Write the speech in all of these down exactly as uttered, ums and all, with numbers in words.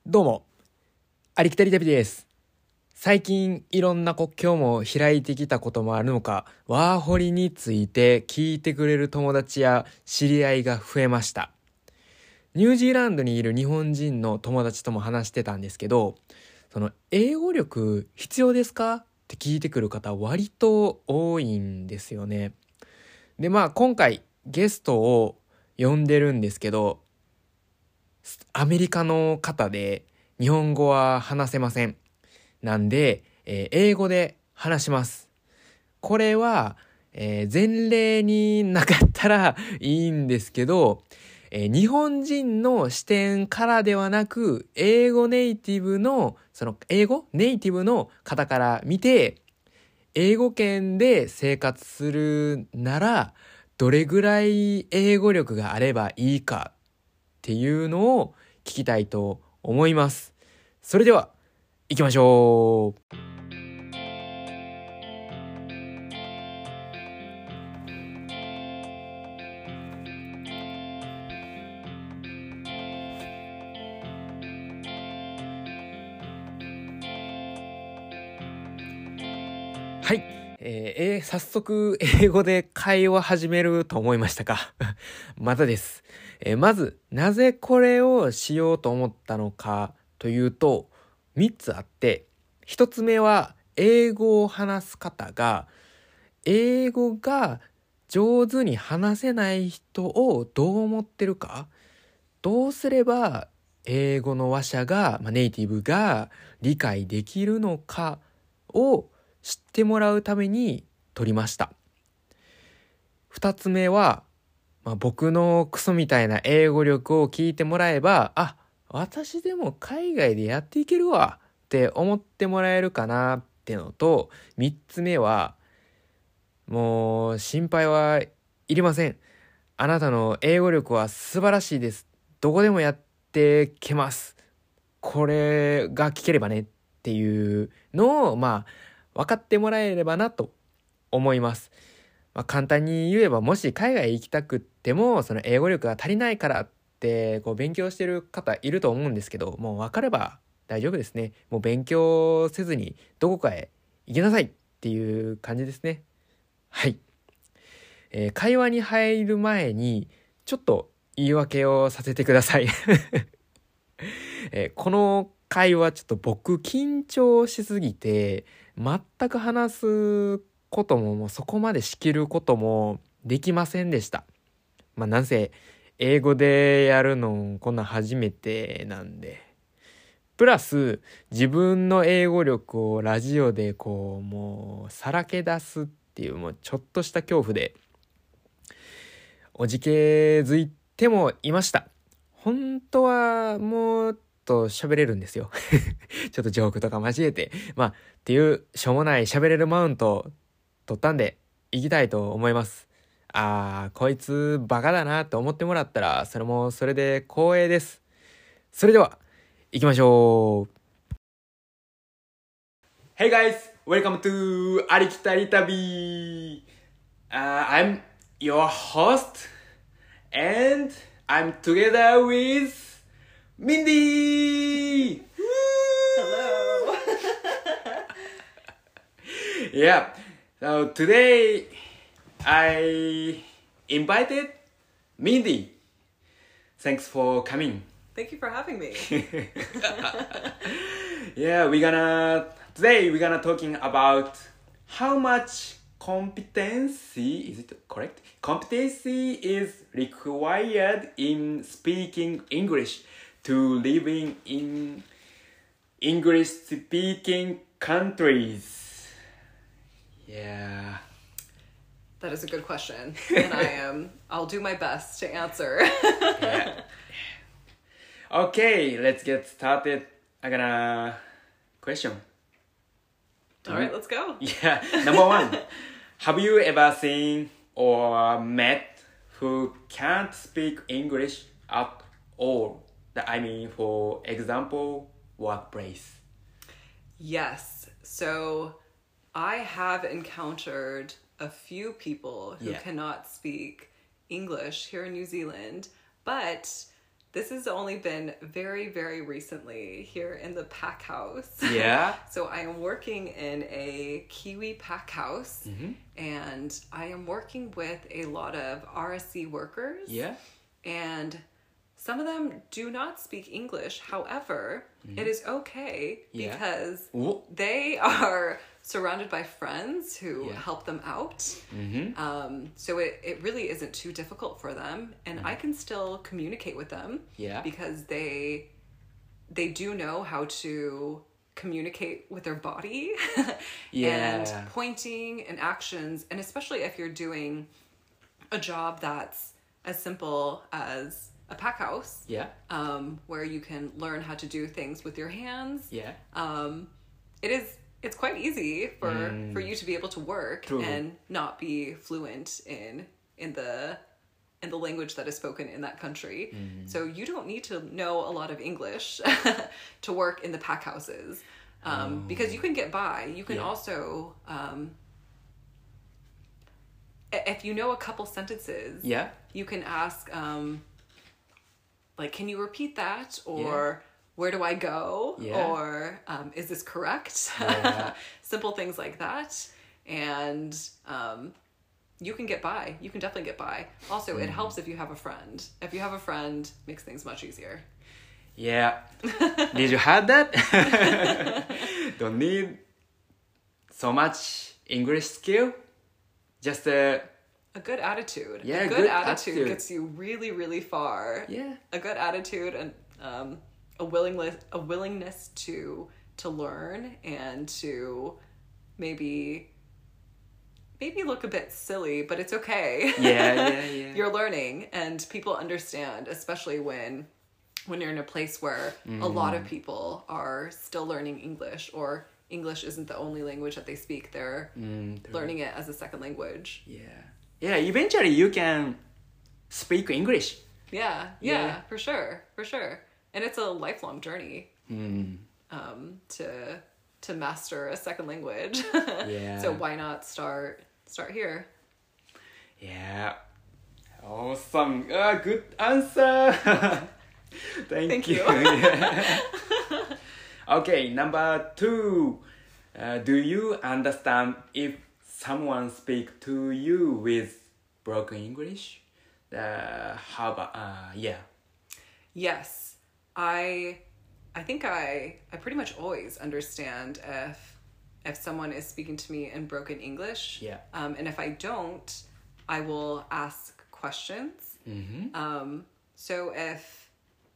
どうも、ありきたり旅です。最近いろんな国境も開いてきたこともあるのか、ワーホリについて聞いてくれる友達や知り合いが増えました。ニュージーランドにいる日本人の友達とも話してたんですけど、その英語力必要ですかって聞いてくる方割と多いんですよね。で、まあ今回ゲストを呼んでるんですけど、アメリカの方で日本語は話せません。なんで、えー英語で話します。これは、えー前例になかったらいいんですけど、えー日本人の視点からではなく、英語ネイティブの、その英語ネイティブの方から見て、英語圏で生活するなら、どれぐらい英語力があればいいかっていうのを聞きたいと思います。それでは行きましょう。はい、えーえー早速英語で会話始めると思いましたか？またです、えーまずなぜこれをしようと思ったのかというとみっつあって、ひとつめは英語を話す方が英語が上手に話せない人をどう思ってるか、どうすれば英語の話者が、まあ、ネイティブが理解できるのかを知ってもらうために撮りました。二つ目は、まあ、僕のクソみたいな英語力を聞いてもらえば、あ、私でも海外でやっていけるわって思ってもらえるかなってのと、三つ目は、もう心配はいりません。あなたの英語力は素晴らしいです。どこでもやってけます。これが聞ければねっていうのを、まあ、分かってもらえればなと思います。まあ、簡単に言えば、もし海外行きたくっても、その英語力が足りないからって、こう勉強してる方いると思うんですけど、もう分かれば大丈夫ですね。もう勉強せずにどこかへ行きなさいっていう感じですね。はい。えー会話に入る前に、ちょっと言い訳をさせてください。えーこの会話ちょっと僕緊張しすぎて、全く話すことももうそこまで仕切ることもできませんでした。まあなんせ英語でやるのこんなん初めてなんで。プラス自分の英語力をラジオでこうもうさらけ出すっていうもうちょっとした恐怖でおじけづいてもいました。本当はもっと喋れるんですよ。ちょっとジョークとか交えて。まあ、っていうしょうもない喋れるマウント取ったんで、行きたいと思います。あー、こいつバカだなって思ってもらったら、それもそれで光栄です。それでは、行きましょう。Hey guys, welcome to ありきたり旅。Uh, I'm your host and I'm together with Mindy. Hello. Yeah. So today I invited Mindy. Thanks for coming. Thank you for having me. Yeah, we're gonna today we're gonna talking about how much competency is it correct? Competency is required in speaking English to living in English speaking countries. Yeah. That is a good question, and I am. I'll do my best to answer. Yeah. Okay, let's get started. I got a question. All right, let's go. Yeah, number one. Have you ever seen or met who can't speak English at all? I mean, for example, workplace. Yes. So, I have encountered a few people who Yeah. cannot speak English here in New Zealand, but this has only been very, very recently here in the pack house. Yeah. So I am working in a Kiwi pack house, Mm-hmm. and I am working with a lot of R S C workers. Yeah. And some of them do not speak English. However, it is okay Yeah. because Oh. they are surrounded by friends who Yeah. help them out. Mm-hmm. Um, so it, it really isn't too difficult for them. And I can still communicate with them Yeah. because they they do know how to communicate with their body Yeah. and pointing and actions. And especially if you're doing a job that's as simple as a pack house, Yeah. um, where you can learn how to do things with your hands. Yeah. Um, it is it's quite easy for Mm. for you to be able to work True. and not be fluent in in the in the language that is spoken in that country. Mm. So you don't need to know a lot of English to work in the pack houses, um, because you can get by. You can Yeah. also um, i- if you know a couple sentences, Yeah. you can ask, um, like, can you repeat that? Or where do I go? Yeah. Or um, is this correct? Yeah. Simple things like that. And um, you can get by. You can definitely get by. Also, it helps if you have a friend. If you have a friend, it makes things much easier. Yeah. Did you have that? Don't need so much English skill. Just uh, A good attitude. Yeah, a good, good attitude, attitude. gets you really, really far. yeah. A good attitude and um, a willingness a willingness to to learn and to maybe maybe look a bit silly, but it's okay. Yeah, yeah, yeah. You're learning, and people understand, especially when when you're in a place where a lot of people are still learning English, or English isn't the only language that they speak. They're Mm, true. learning it as a second language. Yeah. Yeah, eventually you can speak English. Yeah, yeah, Yeah. for sure, for sure. And it's a lifelong journey Mm. um, to to master a second language. Yeah. So why not start start here? Yeah. Awesome. Uh, good answer. Thank, Thank you. you. Yeah. Okay, number two. Uh, do you understand if someone speak to you with broken English? Uh, how about, uh, yeah. Yes, I I think I I pretty much always understand if if someone is speaking to me in broken English. Yeah. Um, and if I don't, I will ask questions. Mm-hmm. Um, so if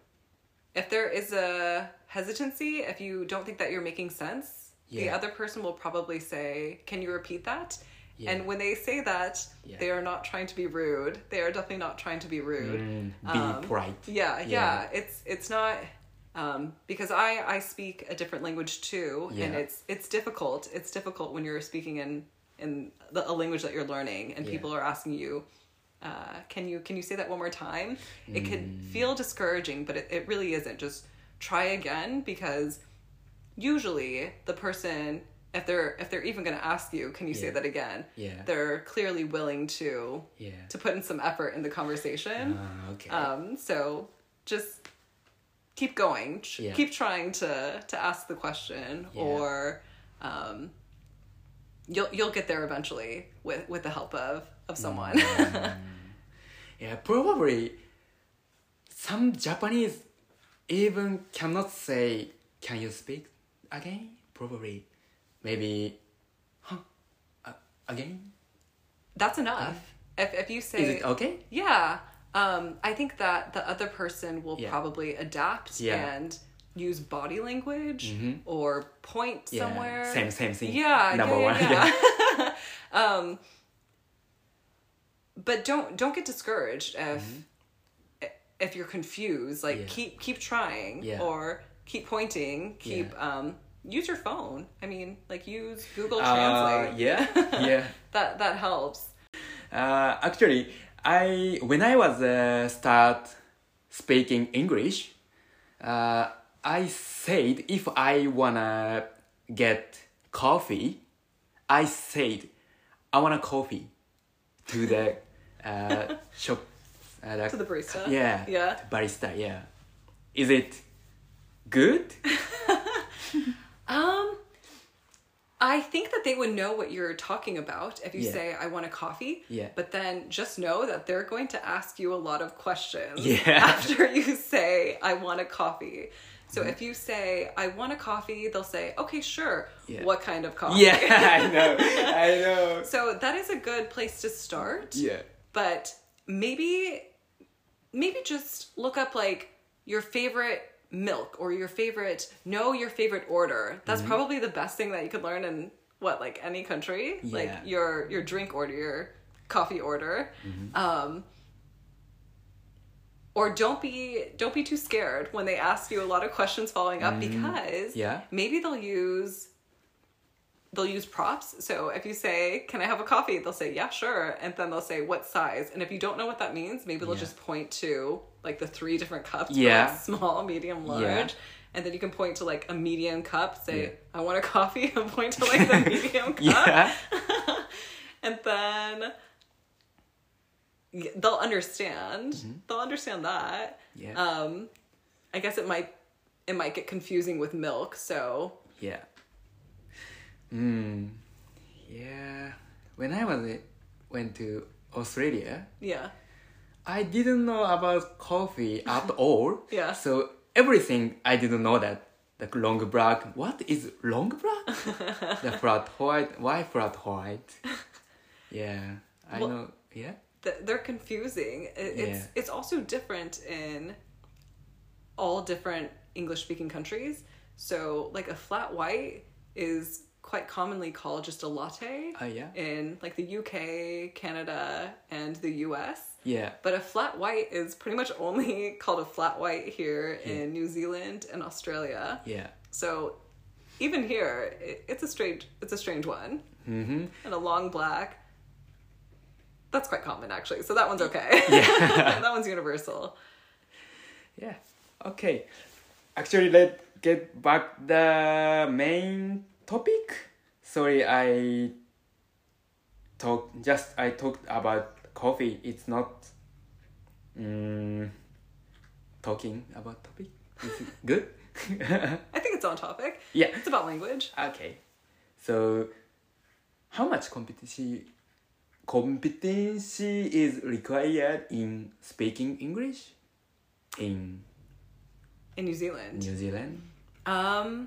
if there is a hesitancy, if you don't think that you're making sense, the Yeah. other person will probably say, "Can you repeat that?" Yeah. And when they say that, Yeah. they are not trying to be rude. They are definitely not trying to be rude. Mm, be Um, polite. Yeah, yeah, Yeah. It's it's not um, because I I speak a different language too, and Yeah. it's it's difficult. It's difficult when you're speaking in in the, a language that you're learning, and Yeah. people are asking you, uh, "Can you can you say that one more time?" It can Mm. feel discouraging, but it, it really isn't. Just try again, because usually the person, if they're if they're even going to ask you, "Can you say Yeah. that again?" Yeah. they're clearly willing to Yeah. to put in some effort in the conversation. Ah, okay. Um, so just keep going. Ch- Yeah. Keep trying to to ask the question, Yeah. or um, you'll you'll get there eventually with with the help of of someone. Yeah, probably some Japanese even cannot say, "Can you speak again?" Probably, maybe, huh, uh, again? That's enough. If if you say Is it okay? yeah, um, I think that the other person will Yeah. probably adapt Yeah. and use body language Mhm. or point Yeah, somewhere. same same thing. Yeah, Number yeah, one. yeah, yeah. um, but don't don't get discouraged if if you're confused. Like Yeah. keep keep trying, Yeah. or keep pointing. Keep Yeah. um use your phone. I mean, like use Google Uh, Translate. yeah, yeah. that that helps. Uh, actually, I when I was uh, start speaking English, uh, I said if I wanna get coffee, I said I want a coffee to the uh, shop. Uh, To the barista. Yeah. Yeah. Barista. Yeah. is it good? Um, I think that they would know what you're talking about if you Yeah. say, I want a coffee. Yeah. But then just know that they're going to ask you a lot of questions Yeah. after you say, I want a coffee. So if you say, I want a coffee, they'll say, okay, sure. Yeah. What kind of coffee? Yeah, I know. I know. So that is a good place to start. Yeah. But maybe, maybe just look up like your favorite milk or your favorite, know your favorite order. That's probably the best thing that you could learn in what, like any country, Yeah. like your, your drink order, your coffee order. Um, or don't be, don't be too scared when they ask you a lot of questions following up because Yeah. maybe they'll use they'll use props. So if you say, can I have a coffee? They'll say, yeah, sure. And then they'll say, what size? And if you don't know what that means, maybe they'll Yeah. just point to like the three different cups. Yeah. Like small, medium, large. Yeah. And then you can point to like a medium cup, say, Yeah. I want a coffee, and point to like the medium cup. Yeah. And then y- they'll understand. They'll understand that. Yeah. Um, I guess it might it might get confusing with milk, so Yeah. Mm. Yeah. When I was went to Australia, yeah. I didn't know about coffee at all. Yeah. So everything I didn't know that the long black. What is long black? The flat white. Why flat white? Yeah, I Well- know. Yeah. Th- they're confusing. It, it's Yeah. it's also different in all different English speaking countries. So like a flat white is quite commonly called just a latte Oh yeah. in like the U K, Canada, and the U S. Yeah. But a flat white is pretty much only called a flat white here Yeah. in New Zealand and Australia. Yeah. So even here, it, it's a strange it's a strange one. Mm-hmm. And a long black. That's quite common actually. So that one's okay. Yeah. That one's universal. Yeah. Okay. Actually, let's get back the main topic. Sorry, I talk just I talked about coffee. It's not um, talking about topic. Is it good? I think it's on topic. Yeah. It's about language. Okay. So, how much competency competency is required in speaking English in In New Zealand. New Zealand? Um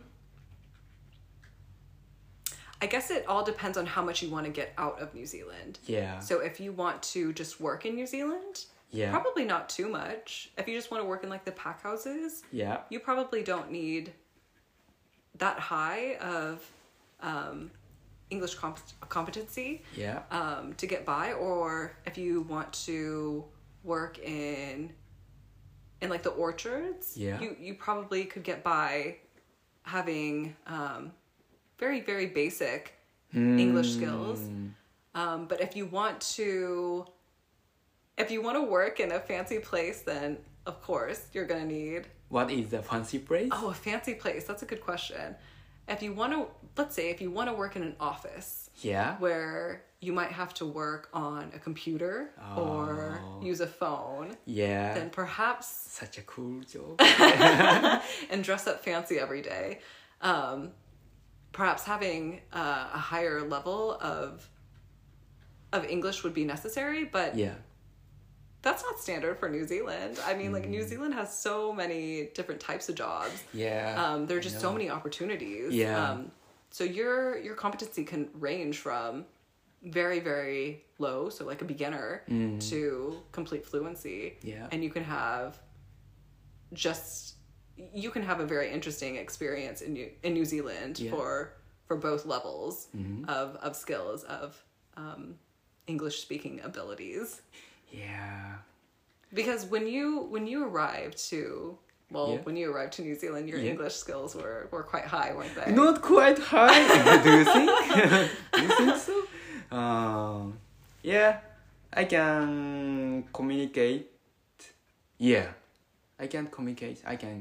I guess it all depends on how much you want to get out of New Zealand. Yeah. So if you want to just work in New Zealand, Yeah. probably not too much. If you just want to work in like the pack houses, Yeah. you probably don't need that high of um, English comp- competency Yeah. um, to get by. Or if you want to work in in like the orchards, Yeah. you you probably could get by having um, very very basic English skills. Mm. Um, but if you want to, if you want to work in a fancy place, then of course you're gonna need. What is the fancy place? Oh, a fancy place. That's a good question. If you want to, let's say, if you want to work in an office Yeah. where you might have to work on a computer or Oh. use a phone, Yeah. then perhaps Such a cool job. and dress up fancy every day. Um, perhaps having uh, a higher level of of English would be necessary, but Yeah. that's not standard for New Zealand. I mean, like New Zealand has so many different types of jobs. Yeah. Um, there are I just so know. many opportunities. Yeah. Um, so your your competency can range from very very low, so like a beginner, to complete fluency. Mm. Yeah. And you can have just you can have a very interesting experience in New in New Zealand Yeah. for for both levels Mm-hmm. of of skills of um, English speaking abilities. Yeah. Because when you when you arrived to well Yeah. when you arrived to New Zealand, your Yeah. English skills were, were quite high, weren't they? Not quite high. Do you think? Do you think so? Um, yeah, I can communicate. Yeah, I can communicate. I can.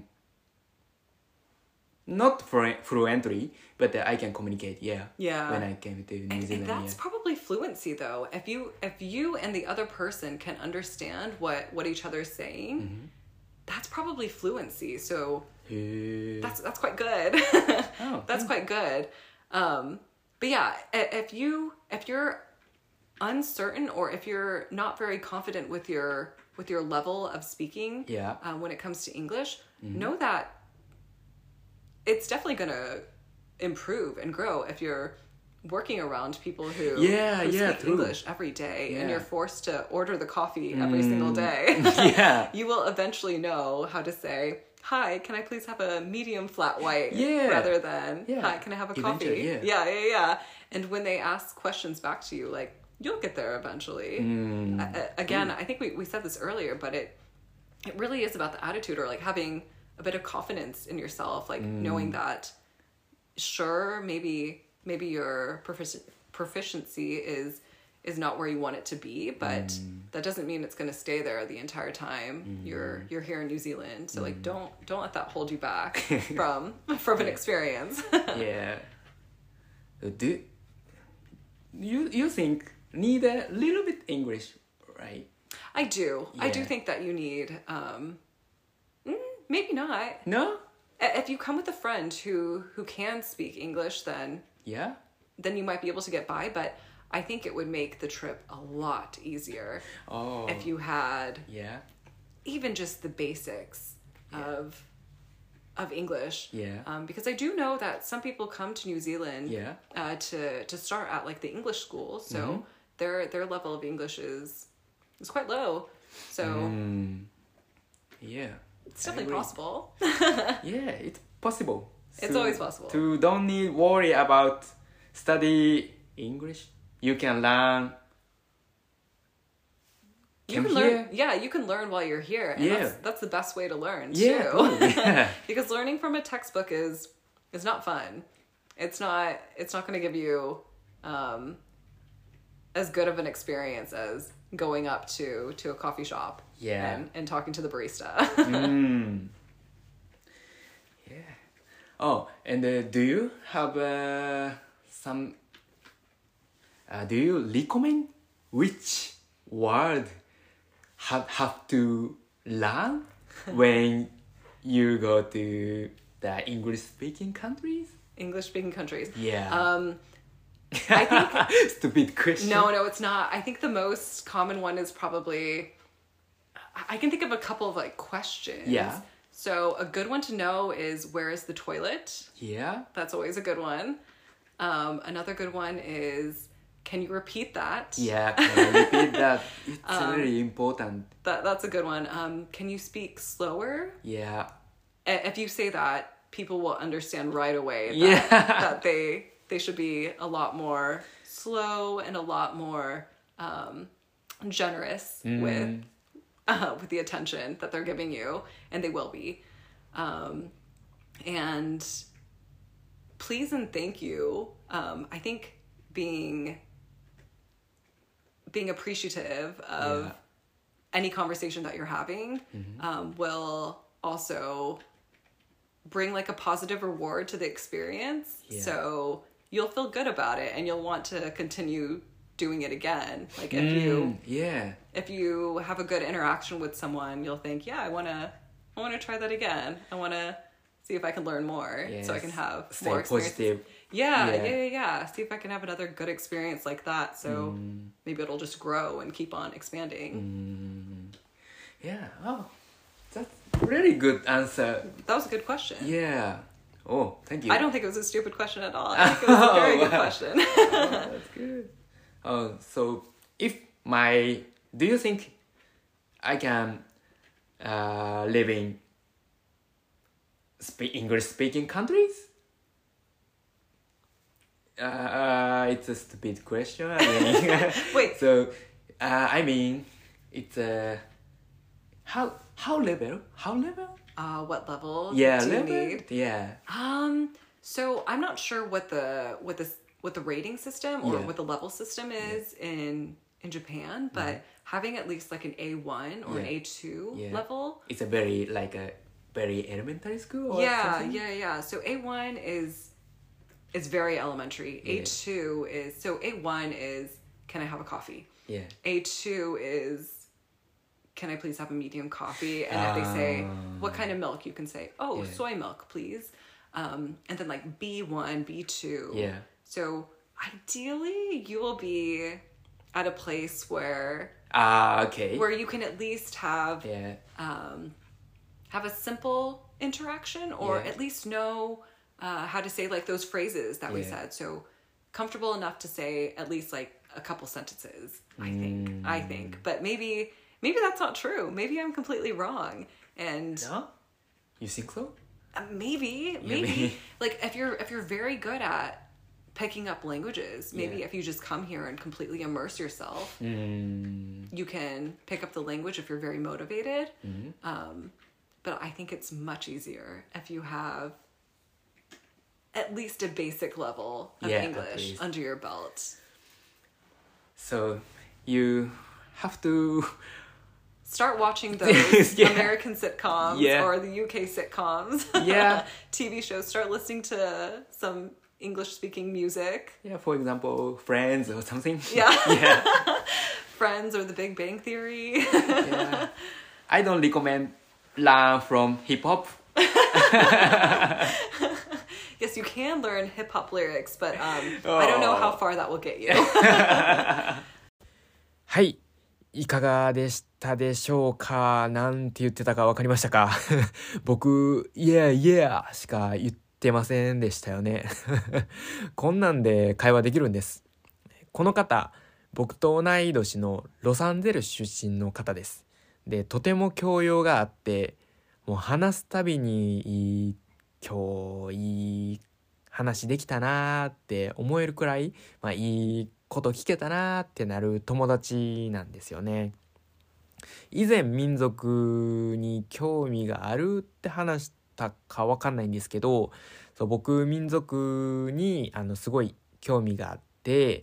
Not flu- fluently, but uh, I can communicate. Yeah. Yeah. When I came to New And, and Zealand. that's Yeah. probably fluency though. If you if you and the other person can understand what what each other's saying, Mm-hmm. that's probably fluency. So へえ。 that's that's quite good. Oh, That's quite good. Um, but yeah, i- if you if you're uncertain or if you're not very confident with your with your level of speaking, Yeah. uh, when it comes to English, know that it's definitely gonna improve and grow if you're working around people who, Yeah, who yeah, speak true. English every day and Yeah. you're forced to order the coffee every single day. Yeah. You will eventually know how to say, hi, can I please have a medium flat white? Yeah. Rather than, Yeah. hi, can I have a Eventually, coffee? yeah. yeah, yeah, yeah. And when they ask questions back to you, like, you'll get there eventually. Mm. Uh, uh, again, I think we, we said this earlier, but it it really is about the attitude or like having a bit of confidence in yourself, like knowing that, sure, maybe maybe your profici- proficiency is is not where you want it to be, but that doesn't mean it's going to stay there the entire time you're you're here in New Zealand. So like don't don't let that hold you back from from an experience. Yeah. Do you you think need a little bit English, right? I do. I do Yeah. think that you need um mm, maybe not. No? I- If you come with a friend who who can speak English, then Yeah. then you might be able to get by, but I think it would make the trip a lot easier Oh. if you had Yeah. even just the basics of of English. Yeah. Um, because I do know that some people come to New Zealand Yeah. uh, to to start at like the English school, so their their level of English is is quite low. So Mm. Yeah. it's I definitely agree. possible. Yeah, it's possible. It's always possible. To don't need worry about study English. You can learn. You Come can learn, here. yeah, you can learn while you're here, and Yeah. that's that's the best way to learn Yeah, too. totally, yeah. Because learning from a textbook is is not fun. It's not it's not going to give you um, as good of an experience as going up to to a coffee shop Yeah. and, and talking to the barista. Mm. Yeah. Oh, and uh, do you have uh, some? Uh, do you recommend which word have have to learn when you go to the English speaking countries? English speaking countries. Yeah. Um, I think Stupid question. no, no, it's not. I think the most common one is probably. I can think of a couple of like questions. Yeah. So a good one to know is where is the toilet? Yeah. That's always a good one. Um, another good one is can you repeat that? Yeah. Can I repeat that? It's Um, very important. That that's a good one. Um, can you speak slower? Yeah. I- If you say that, people will understand right away that, Yeah. that they they should be a lot more slow and a lot more um, generous with uh, with the attention that they're giving you, and they will be. Um, and please and thank you. Um, I think being being appreciative of Yeah. any conversation that you're having um, will also bring like a positive reward to the experience. Yeah. So you'll feel good about it and you'll want to continue doing it again. Like if you Mm, yeah. if you have a good interaction with someone, you'll think, yeah, I want to I want to try that again. I want to see if I can learn more so I can Yes. have Stay more experiences. positive. Yeah, Yeah. yeah, yeah, yeah. See if I can have another good experience like that. So Mm. maybe it'll just grow and keep on expanding. Yeah. Oh, that's really good answer. That was a good question. Yeah. Oh, thank you. I don't think it was a stupid question at all. I think it was a very good Wow. question. Oh, that's good. Oh, so if my, do you think I can uh, live in spe- English speaking countries? Uh, uh, it's a stupid question. I mean, Wait. So, uh, I mean, it's a how how level how level? Uh, what level Yeah, do you level. need? Yeah. Um, so I'm not sure what the what the what the rating system or Yeah. what the level system is in in Japan, but having at least like an A one or an Yeah. A two Yeah. level. It's a very like a very elementary school. Or Yeah, something? yeah, yeah. So A one is is very elementary. Yeah. A two is so A one is can I have a coffee? Yeah. A two is can I please have a medium coffee? And if they say, what kind of milk? You can say, oh, Yeah. soy milk, please. Um, and then like B one, B two. Yeah. So ideally, you will be at a place where Ah, okay. where you can at least have Yeah. um, have a simple interaction, or Yeah. at least know uh, how to say like those phrases that we Yeah. said. So comfortable enough to say at least like a couple sentences. I think. Mm. I think, but maybe maybe that's not true. Maybe I'm completely wrong, and No? You think so? uh, maybe maybe maybe. like if you're if you're very good at picking up languages, maybe Yeah. if you just come here and completely immerse yourself, Mm. you can pick up the language if you're very motivated. Mm-hmm. Um, but I think it's much easier if you have at least a basic level of Yeah, at English least. under your belt. So you have to Start watching those Yeah. American sitcoms Yeah. or the U K sitcoms. Yeah. T V shows. Start listening to some English-speaking music. yeah, for example, Friends or something. Yeah. yeah. Friends or The Big Bang Theory. Yeah. I don't recommend learn from hip hop. Yes, you can learn hip-hop lyrics, but um, I don't know how far that will get you. はい。いかがでしたでしょうか？なんて言ってたかわかりましたか？僕、Yeah, yeah しか言ってませんでしたよね。こんなんで会話できるんです。この方、僕と同い年のロサンゼルス出身の方です。で、とても教養があって、もう話すたびにいい、今日いい話できたなーって思えるくらい、まあいいこと聞けたなーってなる友達なんですよね。以前民族に興味があるって話したかわかんないんですけど、そう僕民族にあのすごい興味があって、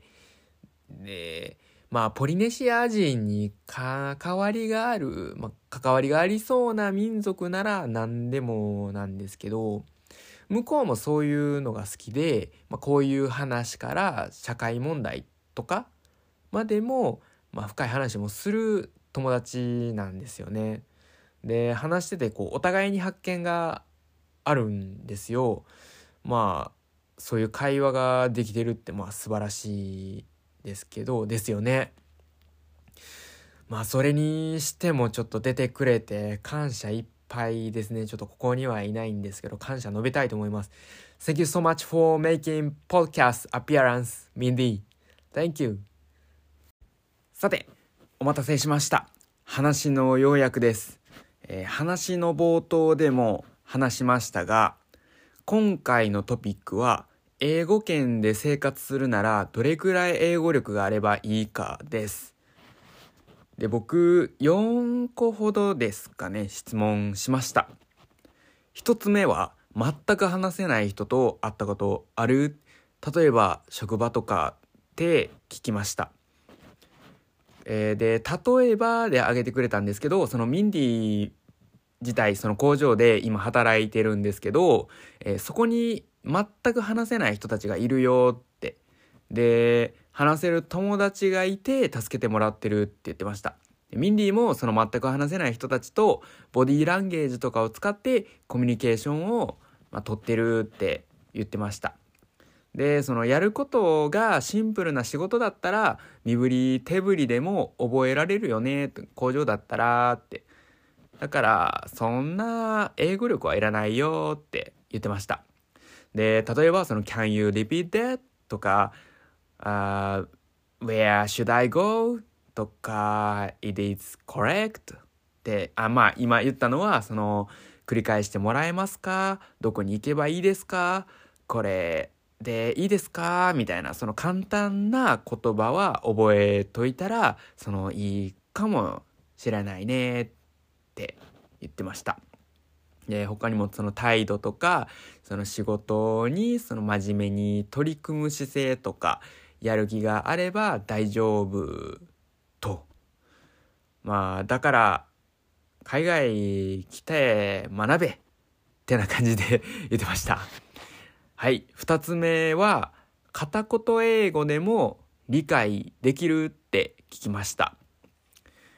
でまあポリネシア人に関わりがある、まあ、関わりがありそうな民族なら何でもなんですけど、向こうもそういうのが好きで、まあ、こういう話から社会問題とかまでも、まあ、深い話もする友達なんですよね。で話しててこうお互いに発見があるんですよ。まあそういう会話ができてるってまあ素晴らしいですけどですよね。まあそれにしてもちょっと出てくれて感謝いっぱいですね。ちょっとここにはいないんですけど感謝述べたいと思います。 Thank you so much for making podcast appearance, Mindy. Thank you. さてお待たせしました。話の要約です、えー、話の冒頭でも話しましたが、今回のトピックは英語圏で生活するならどれくらい英語力があればいいかです。で、僕よんこほどですかね、質問しました。一つ目は全く話せない人と会ったことある？例えば職場とかで聞きました。えー、で例えばで挙げてくれたんですけど、そのミンディ自体その工場で今働いてるんですけど、えー、そこに全く話せない人たちがいるよって、で話せる友達がいて助けてもらってるって言ってました。ミンディもその全く話せない人たちとボディーランゲージとかを使ってコミュニケーションを、まあ、取ってるって言ってました。でそのやることがシンプルな仕事だったら身振り手振りでも覚えられるよね、工場だったらって、だからそんな英語力はいらないよって言ってました。で例えばその Can you repeat that? とか、uh, Where should I go? とか It is correct? ってあまあ今言ったのはその繰り返してもらえますか、どこに行けばいいですか、これでいいですかみたいな、その簡単な言葉は覚えといたらそのいいかもしれないねって言ってました。で他にもその態度とかその仕事にその真面目に取り組む姿勢とかやる気があれば大丈夫と、まあだから海外来て学べってな感じで言ってました。はい、二つ目は片言英語でも理解できるって聞きました。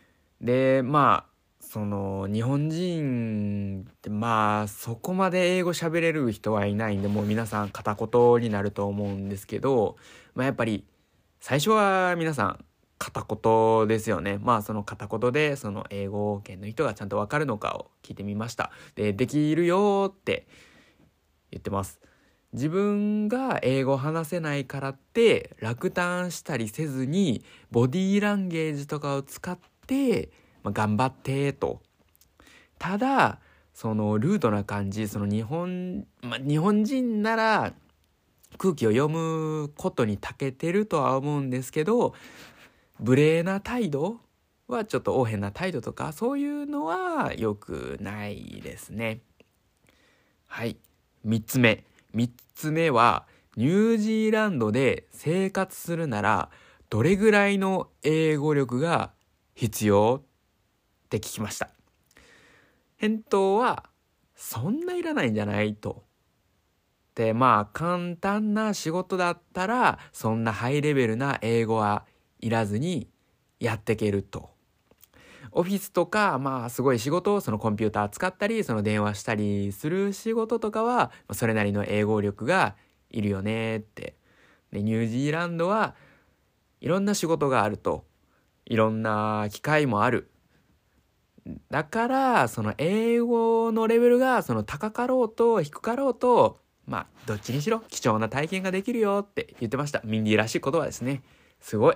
で、まあ、その、日本人って、まあ、そこまで英語喋れる人はいないんで、もう皆さん片言になると思うんですけど、まあやっぱり、最初は皆さん片言ですよね。まあその片言で、その英語圏の人がちゃんとわかるのかを聞いてみました。で、できるよって言ってます。自分が英語話せないからって落胆したりせずにボディーランゲージとかを使って、まあ、頑張ってと。ただそのルードな感じ、その日本、まあ、日本人なら空気を読むことに長けてるとは思うんですけど、無礼な態度はちょっと横柄な態度とかそういうのは良くないですね。はい、みっつめ。みっつめは、ニュージーランドで生活するならどれぐらいの英語力が必要って聞きました。返答はそんないらないんじゃないと。で、まあ簡単な仕事だったらそんなハイレベルな英語はいらずにやっていけると。オフィスとか、まあすごい仕事をそのコンピューター使ったり、その電話したりする仕事とかは、それなりの英語力がいるよねって。で、ニュージーランドはいろんな仕事があると。いろんな機会もある。だから、その英語のレベルがその高かろうと低かろうと、まあどっちにしろ貴重な体験ができるよって言ってました。ミンディらしい言葉ですね。すごい。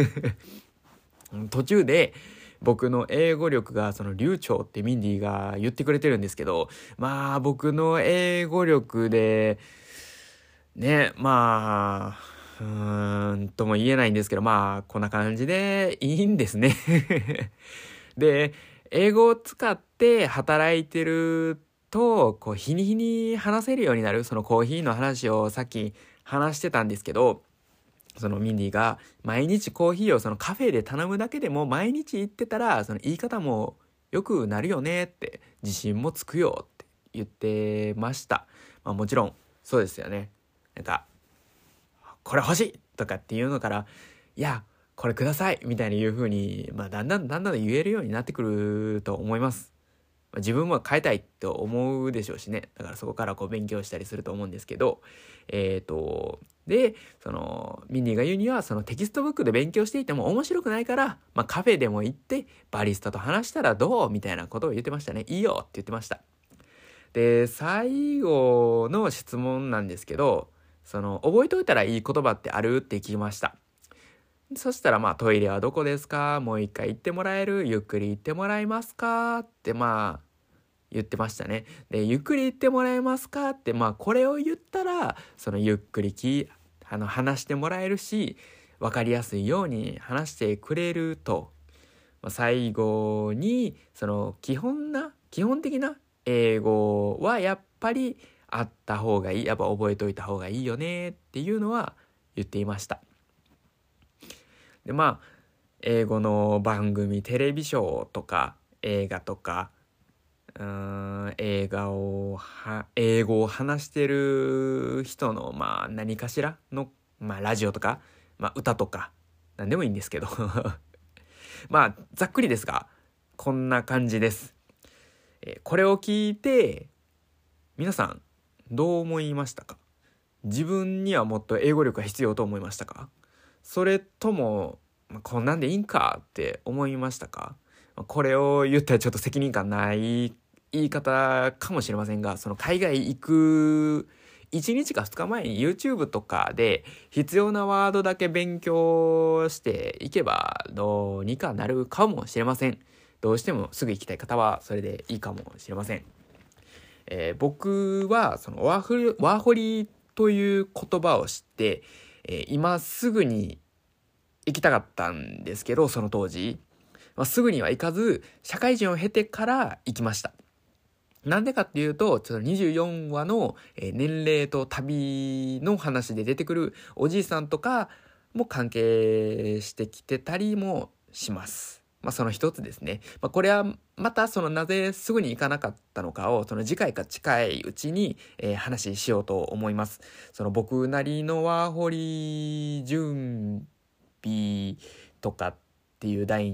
途中で、僕の英語力がその流暢ってミンディが言ってくれてるんですけど、まあ僕の英語力でね、まあうーんとも言えないんですけど、まあこんな感じでいいんですね。で、英語を使って働いてるとこう日に日に話せるようになる。そのコーヒーの話をさっき話してたんですけど、そのミンディが毎日コーヒーをそのカフェで頼むだけでも毎日言ってたら、その言い方も良くなるよねって、自信もつくよって言ってました。まあもちろんそうですよね。なんかこれ欲しいとかっていうのから、いやこれくださいみたいに言う風に、まあだんだんだんだん言えるようになってくると思います。自分も変えたいと思うでしょうしね。だからそこからこう勉強したりすると思うんですけど、えっと、で、その、ミンディが言うには、そのテキストブックで勉強していても面白くないから、まあカフェでも行って、バリスタと話したらどうみたいなことを言ってましたね。いいよって言ってました。で、最後の質問なんですけど、その、覚えておいたらいい言葉ってあるって聞きました。そしたら、まあ、トイレはどこですか？もう一回言ってもらえる？ゆっくり言ってもらえますか？って、まあ、言ってましたね。で、ゆっくり言ってもらえますかって、まあ、これを言ったら、その、ゆっくりき、あの、話してもらえるし、わかりやすいように話してくれると。まあ、最後に、その、基本な、基本的な英語はやっぱりあった方がいい。やっぱ覚えておいた方がいいよねっていうのは言っていました。で、まあ、英語の番組、テレビショーとか、映画とか、うーん、映画をは、英語を話してる人の、まあ、何かしらの、まあ、ラジオとか、まあ、歌とか、なんでもいいんですけど。まあ、ざっくりですが、こんな感じです。えーこれを聞いて、皆さん、どう思いましたか？自分にはもっと英語力が必要と思いましたか？それとも、まあ、こんなんでいいんかって思いましたか？これを言ったらちょっと責任感ない言い方かもしれませんが、その海外行くいちにちかふつかまえに YouTube とかで必要なワードだけ勉強していけばどうにかなるかもしれません。どうしてもすぐ行きたい方はそれでいいかもしれません。えー僕はそのワーホリ、ワーホリという言葉を知って、えー今すぐに行きたかったんですけど、その当時、まあ、すぐには行かず社会人を経てから行きました。なんでかっていうと、ちょっとにじゅうよんわの年齢と旅の話で出てくるおじいさんとかも関係してきてたりもします。まあその一つですね。まあこれはまたそのなぜすぐに行かなかったのかをその次回か近いうちに、えー、話しようと思います。その僕なりのワーホリ準備とかっていう題に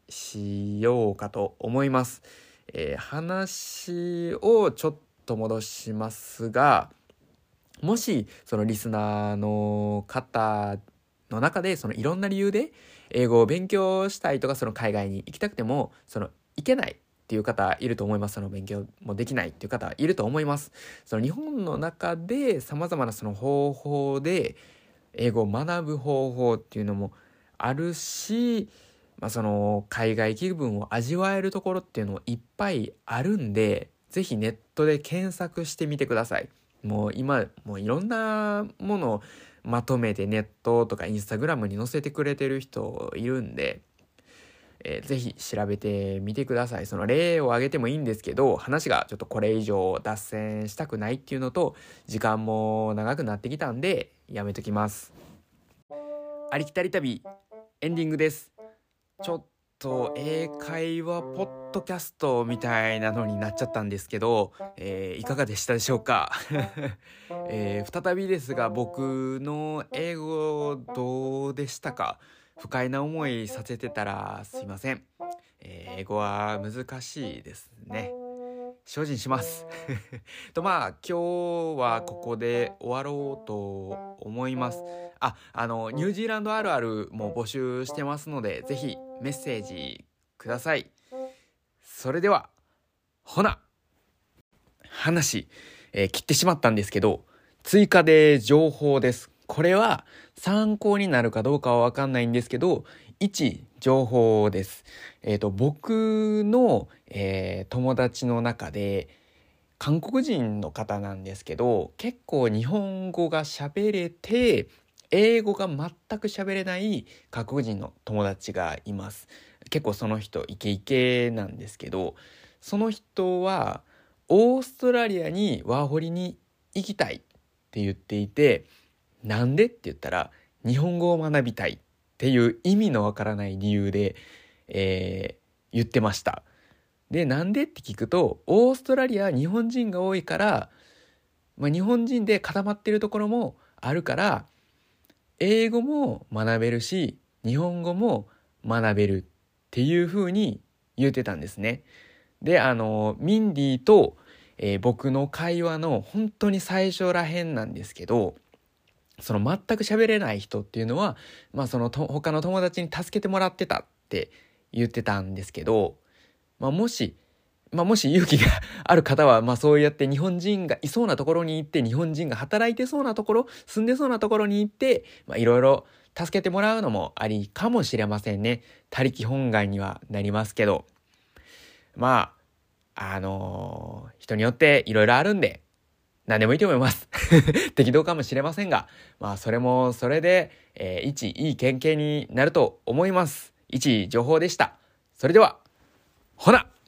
しようかと思います。えー、話をちょっと戻しますが、もしそのリスナーの方の中でそのいろんな理由で英語を勉強したいとか、その海外に行きたくてもその行けないっていう方いると思います。その勉強もできないっていう方いると思います。その日本の中で様々なその方法で英語を学ぶ方法っていうのもあるし、まあ、その海外気分を味わえるところっていうのもいっぱいあるんで、ぜひネットで検索してみてください。もう今もういろんなものをまとめてネットとかインスタグラムに載せてくれてる人いるんで、えー、ぜひ調べてみてください。その例を挙げてもいいんですけど、話がちょっとこれ以上脱線したくないっていうのと、時間も長くなってきたんでやめときます。ありきたり旅エンディングです。ちょっと英会話ポッドキャストみたいなのになっちゃったんですけど、えー、いかがでしたでしょうか、えー、再びですが、僕の英語どうでしたか？不快な思いさせてたらすいません。えー、英語は難しいですね。精進しますと、まあ今日はここで終わろうと思います。あ、あのニュージーランドあるあるも募集してますので、ぜひメッセージください。それではほな話、えー切ってしまったんですけど、追加で情報です。これは参考になるかどうかは分かんないんですけど、一情報です。えっと僕の、えー友達の中で韓国人の方なんですけど、結構日本語が喋れて英語が全く喋れない韓国人の友達がいます。結構その人イケイケなんですけど、その人はオーストラリアにワーホリに行きたいって言っていて、なんでって言ったら日本語を学びたいっていう意味のわからない理由で、えー言ってました。で、なんでって聞くと、オーストラリアは日本人が多いから、まあ、日本人で固まってるところもあるから、英語も学べるし日本語も学べるっていう風に言ってたんですね。で、あのミンディと、えー僕の会話の本当に最初らへんなんですけど、その全く喋れない人っていうのは、まあ、そのと他の友達に助けてもらってたって言ってたんですけど、まあ、もしまあ、もし勇気がある方は、まあそうやって日本人がいそうなところに行って、日本人が働いてそうなところ、住んでそうなところに行って、まあいろいろ助けてもらうのもありかもしれませんね。他力本願にはなりますけど。まあ、あのー人によっていろいろあるんで、何でもいいと思います。適当かもしれませんが、まあそれもそれで、えー一いい経験になると思います。一情報でした。それでは、ほな